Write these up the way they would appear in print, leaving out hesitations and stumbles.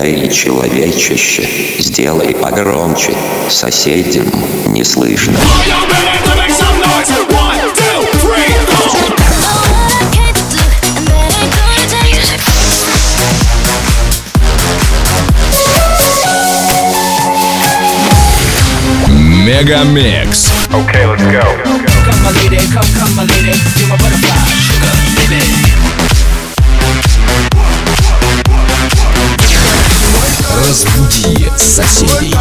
Эй, человечище, сделай погромче, соседям не слышно. Мегамикс. Okay, let's go. Come my lady, come my lady, you're my butterfly, sugar, baby. Разбуди соседей.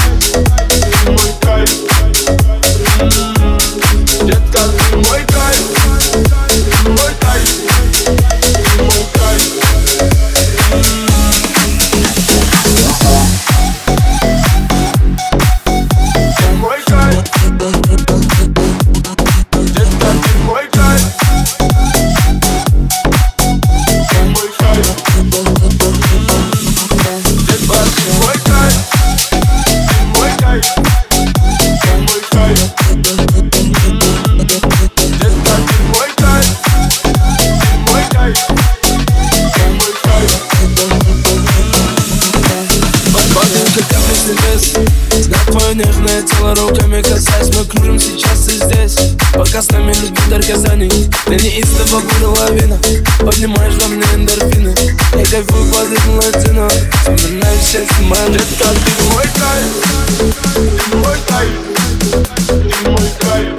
Нежное тело руками касаясь, мы кружим сейчас и здесь. Пока с нами любви дарказаний, ты неистово буря лавина. Поднимаешь во мне эндорфины, я кайфую под ритм латино. Вспоминаю все снимаем. Детка, ты мой кайф, ты мой кайф, ты мой кайф.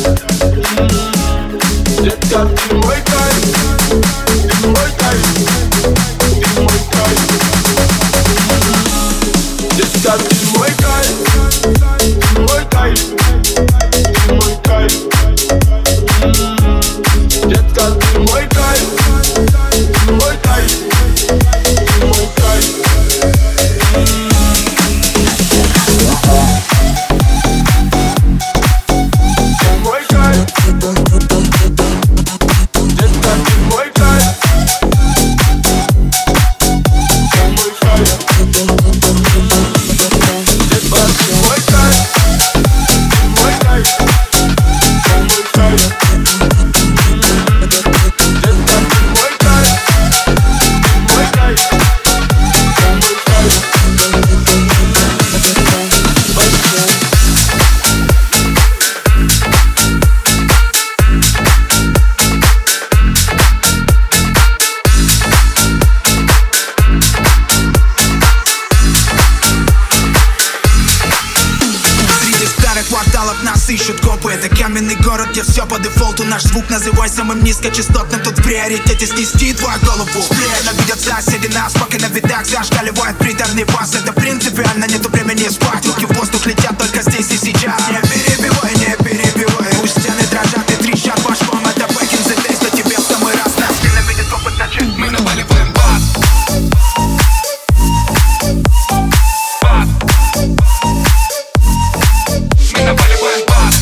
Детка, ты мой кайф, ты мой кайф, ты мой кайф. Детка, ты мой кайф. Мой кайф, ты мой кайф. Детка, ты мой кайф, мой кайф, ты мой кайф. Мой кайф, детка, ты мой кайф, мой кайф. Ищут копы, это каменный город, где все по дефолту. Наш звук называй самым низкочастотным. Тут в приоритете снести твою голову. Ненавидят соседи нас, пока на видах зашкаливает приторный бас. Это принципиально, нету времени спать. Руки в воздух летят только здесь и сейчас. Не перебивай, не перебивай. Пусть стены дрожат и трещат башком. Это back in the days, но тебе в самый раз нас ненавидят опыт начать. Мы наваливаем бас. Мы наваливаем бас.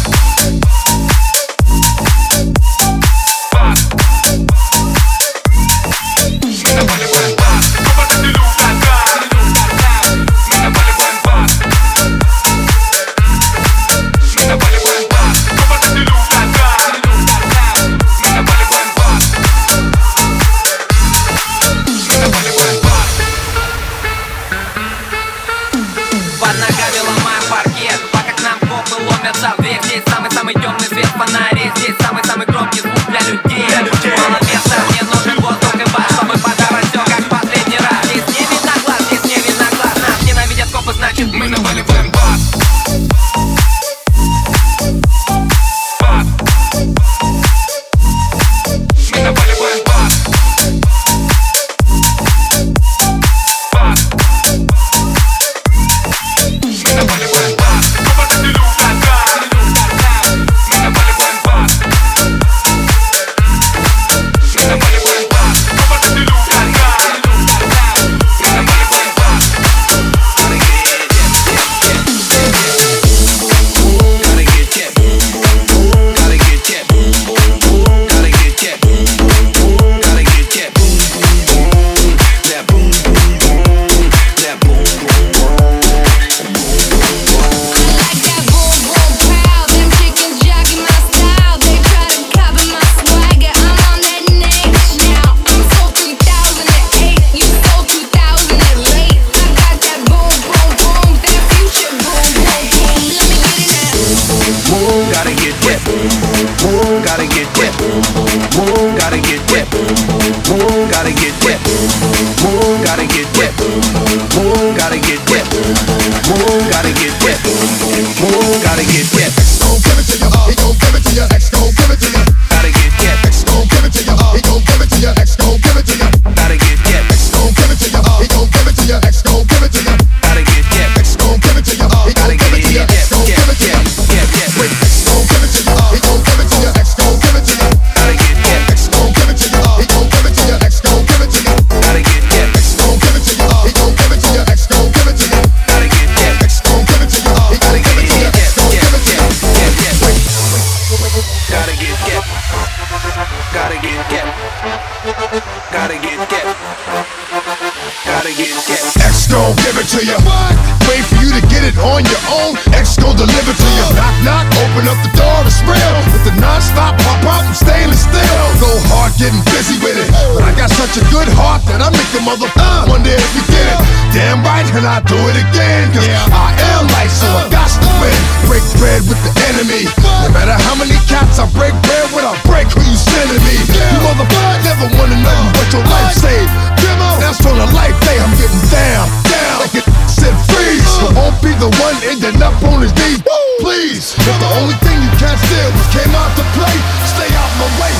gon' give it to you. Wait for you to get it on your own, X gon' deliver to you. Knock, knock, open up the door, it's real. With the non-stop pop-up from stainless steel. Go hard getting busy with it, but I got such a good heart that I make a mother wonder if you get it. Damn right, and I do it again, cause I am light, so I got to win. Break bread with the enemy. No matter how many cats I break bread with, I break who you sending me. You motherfuckers never wanna know what your life saved. That's on a life day, I'm getting down, like it said freeze. I won't be the one ending up on his knees, please. But the only thing you can't steal was came out to play. Stay out my way,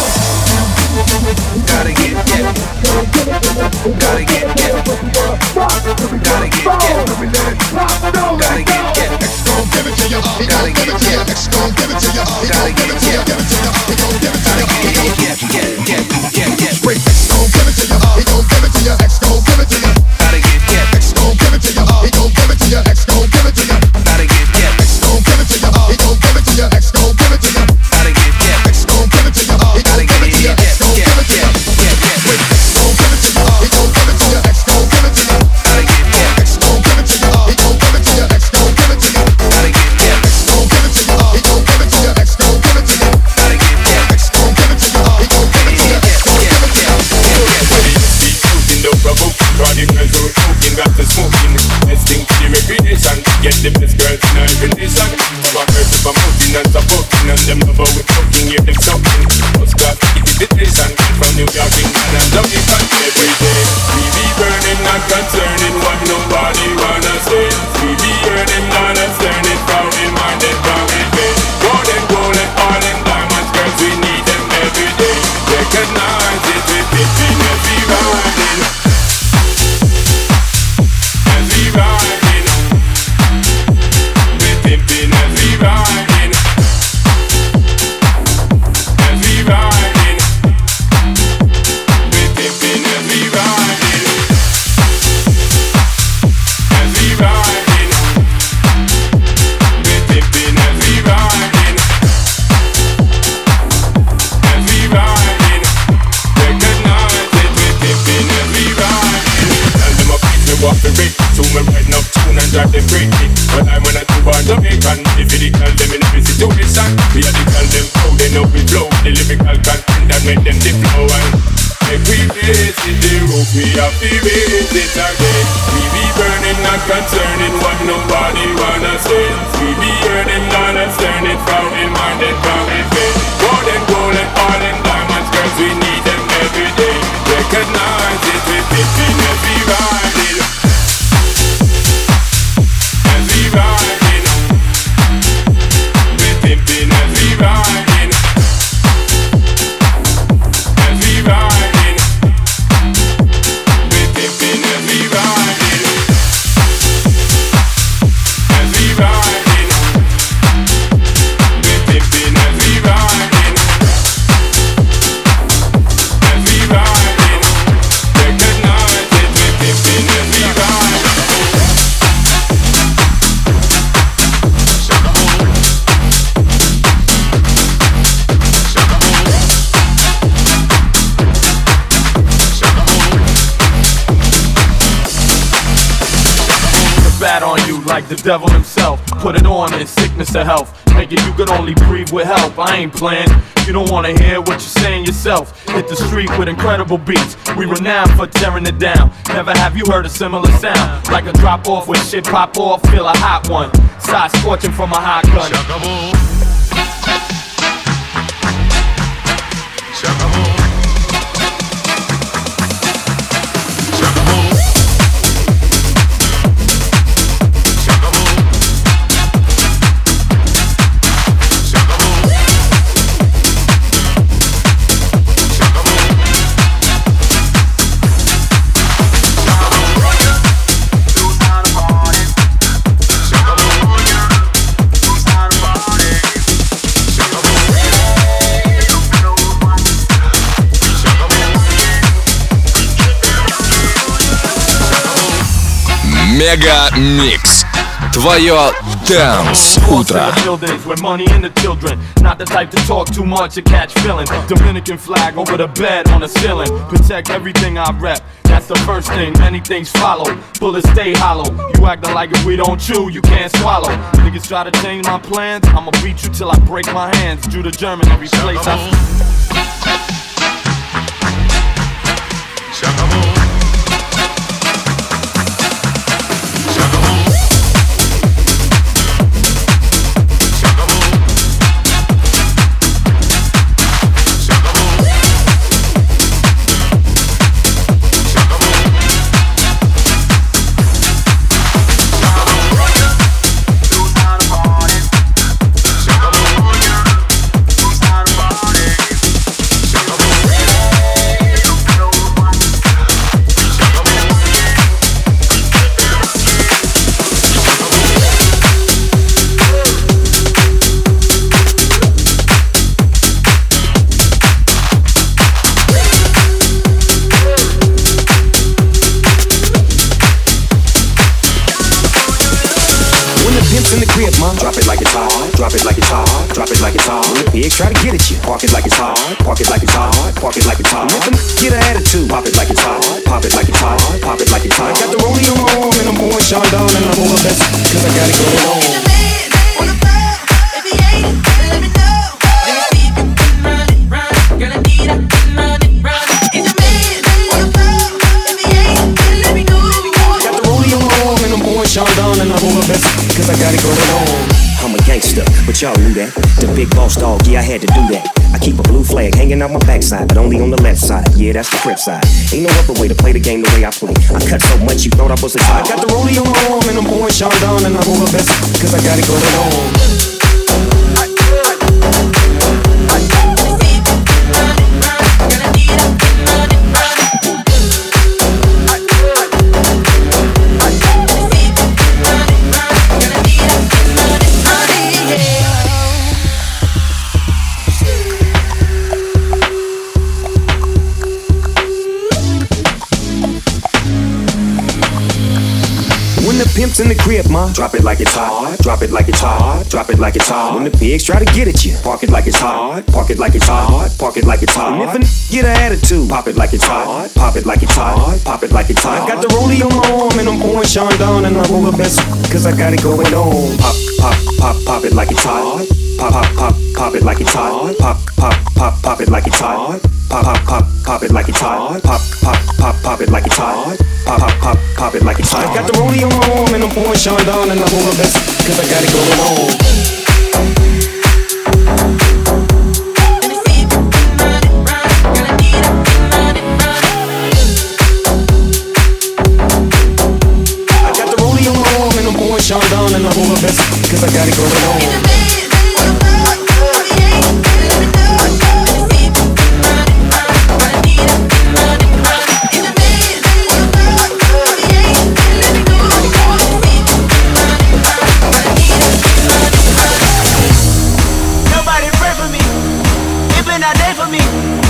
Gotta get, gotta get, gotta get, X gon' give it to you, he gon' give it to you. X gon' give it to you, he gon' give it to you, give it to you, he gon' give it to you. Straight X gon' give it to you, he gon' give it to you. X gon' give it to you. X gon' give it to you, he gon' give it to you. X gon' give it to you. X gon' give it to you, he gon' give it to you. X gon' give it to you. X gon' give it to you, he gon' give it to you. X gon' give it to you. Straight X gon' give it to you, he gon' give it to you. X gon' give it to you. X gon' give it to you, he gon' give it to you. X gon' give it to you. X gon' give it to you, he gon' give it to you. X gon' give it to you. X gon' give it to you, he gon' give it to you. X gon' give it to you. No provoking, body girls who are smoking, got to smoking. Let's think to the recreation, get the best girls in our condition. Our girls are promoting and supporting, and them love how we talking, hear them talking. Most class invitation from New York, England, and Jamaica every day. We be burning, not concerning what nobody wanna say. We be earning, not concerning, proud in mind and proud in faith. Gold and all in diamonds, girls, we need them every day. Recognize it with pitching every riding. As we riding, we're pimping as we riding. As we riding, we're pimping as we riding. As we riding, we're pimping as we riding. As we riding, recognize it, we're pimping as we riding. Tell them a piece me walk the rate, so me riding up tune and drive them crazy. But I'm when I do born Jamaican, if you call them in every situation, we are the call them how they know we flow. The lyrical content that make them the flow and make we face it, the rope we have to raise it again. We be burning, not concerning what nobody wanna say. We be earning, not concerning, proud in mind and proud in faith. Gold and all in diamonds, girls, we need them every day. Recognize it, we're pimping as we riding. As we riding, we're pimping as we riding. As we riding, we're pimping as we riding. As we riding, we're pimping as we riding. As we riding, recognize it, we're pimping as we riding. Bad on you like the devil himself. Put it on in sickness or health. Nigga, you could only breathe with help. I ain't playing. You don't wanna hear what you're saying yourself. Hit the street with incredible beats. We renowned for tearing it down. Never have you heard a similar sound. Like a drop off when shit pop off. Feel a hot one. Side scorching from a hot gun. Мега Микс. Твое Dance утро. With money and the children, not the type to talk too much or catch feelings. Dominican flag over the bed on the ceiling. Protect everything I rep. That's the first thing. Many things follow. Bullets stay hollow. You acting like if we don't chew, you can't swallow. Niggas try to change my plans. I'ma beat you till I break my hands. Due to German, every place Drop it like it's hot, drop it like it's hot, drop it like it's hot. When the pigs try to get at you, park it like it's hot, park it like it's hot, park it like it's hot. Let them get an attitude, pop it like it's hot, pop it like it's hot, pop it like it's hot. I got the rollie on my arm and I'm pouring Sean down and I'm over best cause I got it going on. Sean down and I'm over best cause I got it going on. I'm a gangster, but y'all knew that. The big boss dog, yeah, I had to do that. I keep a blue flag hanging out my backside, but only on the left side. Yeah, that's the crib side. Ain't no other way to play the game the way I play. I cut so much you thought I was a tie. I got the rollie on my arm and I'm pouring Sean down and I'm over best cause I got it going on. Pimps in the crib, ma. Drop it like it's hot. Drop it like it's hot. Drop it like it's hot. When the pigs try to get at you, park it like it's hot. Park it like it's hot. Park it like it's hot. And if a get an attitude, pop it like it's hot. Pop it like it's hot. Pop it like it's hot. I got the rollie on my arm and I'm pouring Sean down and I'm over best cause I got it going on. Pop, pop, pop, pop it like it's hot. Pop, pop, pop, pop it like it's hot. Pop, pop, pop, pop it like it's hot. Pop, pop, pop, pop it like it's hot. Pop, pop, pop, pop it like it's hot. Pop, pop, pop, pop it like it's hot. I got the rollie on my arm and I'm pouring Sean down and I'm over best cause I got it going on. Sean down and I'm over best cause I got it going on. Nobody pray for me. It been a day for me.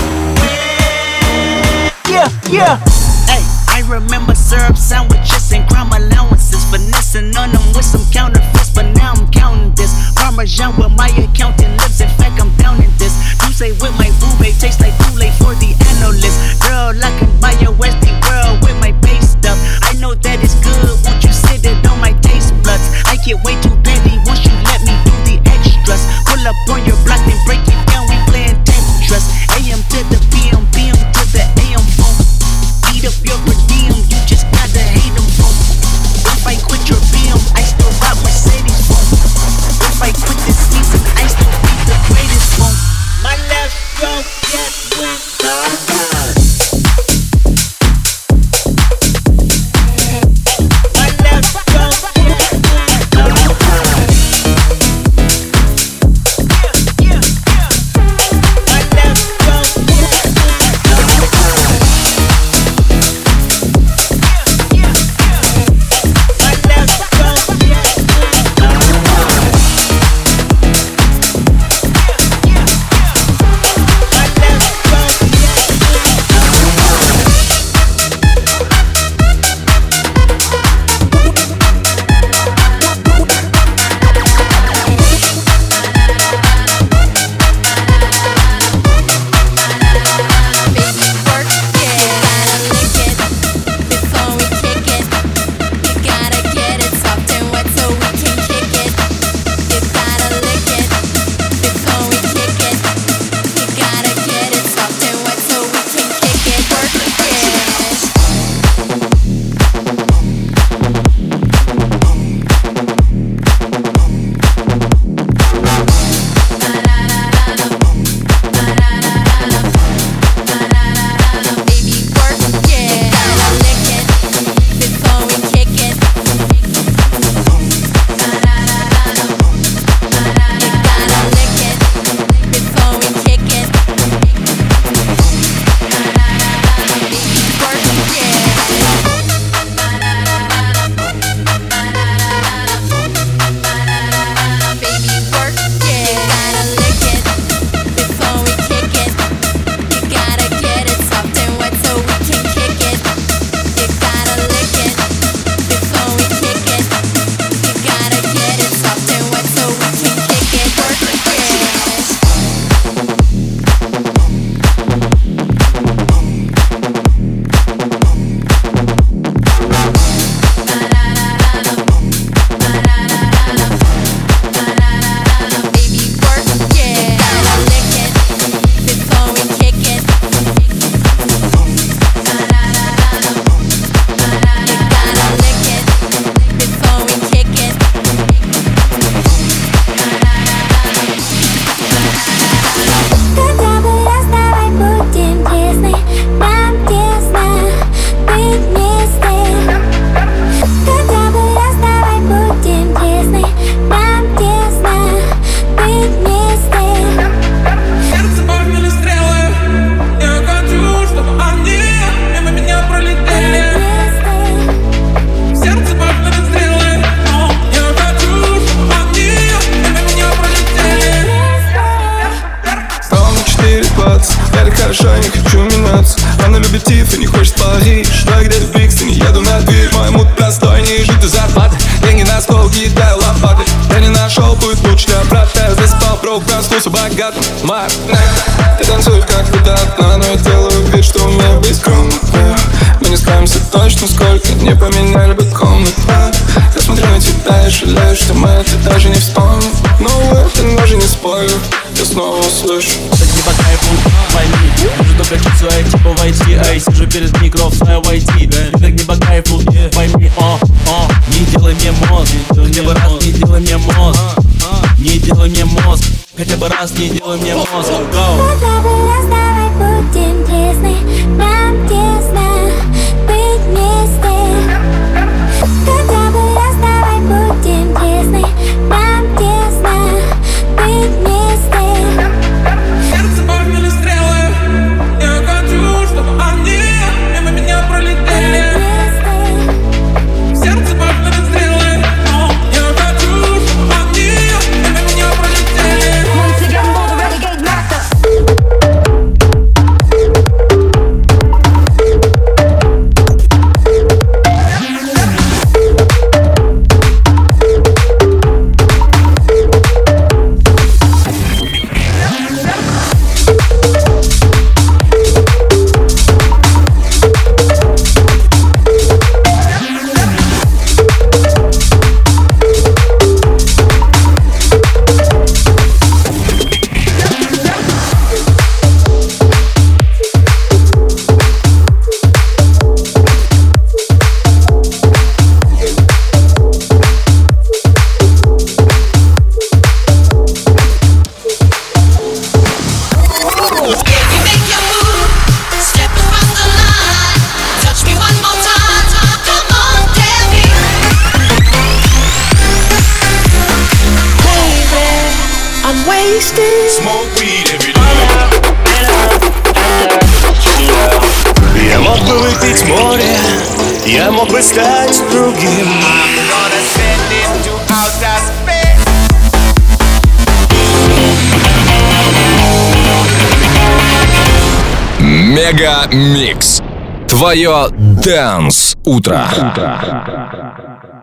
Yeah. Hey, I remember syrup sandwiches and crime allowances, finessing on them with some counterfeits, but now I'm counting this. Parmesan with my accountant lips, in fact I'm down in this. You say with my boobay, tastes like Kool-Aid for the analyst. Girl, I can buy your Westie world with my base stuff. I know that it's good, won't you sit it on my taste buds? I get way too petty once you let me do the extras. Pull up on your block, then break it down, we playing Tetris. AM to the PM, PM to the AM phone. мотив и не хочет Париж. Что я где-то в Брикстоне, еду на дверь. Мой мут простой, не жить из зарплаты. Деньги на стол, кидаю лопаты. Я не нашел путь лучше для брата. Я заспал, брок, проснулся богатым. Марк, ты танцуешь как выдатно, но я делаю вид, что умею быть скромным. Мы не скроемся точно, сколько не поменяли бы комнат. Я смотрю на тебя и жалею, что мы это даже не вспомним. Но это даже не спорю, я снова услышу. Так не по кайфу, пойми. Уже только чуть свои типа войти. Ай, сижу перед микро в свое войти. Так не по кайфу, пойми. Не делай мне мозг, хотя бы раз не делай мне мозг. Не делай мне мозг, хотя бы раз не делай мне мозг. Go. Хотя бы раз давай будем честны, нам тесно быть вместе. Хотя бы раз давай будем честны, нам тесно быть вместе. Сердце погнали стрелы, я хочу, чтобы они мимо меня пролетели. Сердце погнали стрелы, я хочу, чтобы они мимо меня пролетели. Once again, we're the renegade master. Smoke weed every day. Я мог бы выпить море, я мог бы стать другим. Мега Микс. Твое Dance утро.